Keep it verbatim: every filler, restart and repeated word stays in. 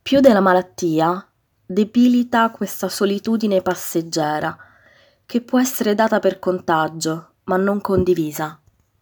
Più della malattia, debilita questa solitudine passeggera, che può essere data per contagio, ma non condivisa.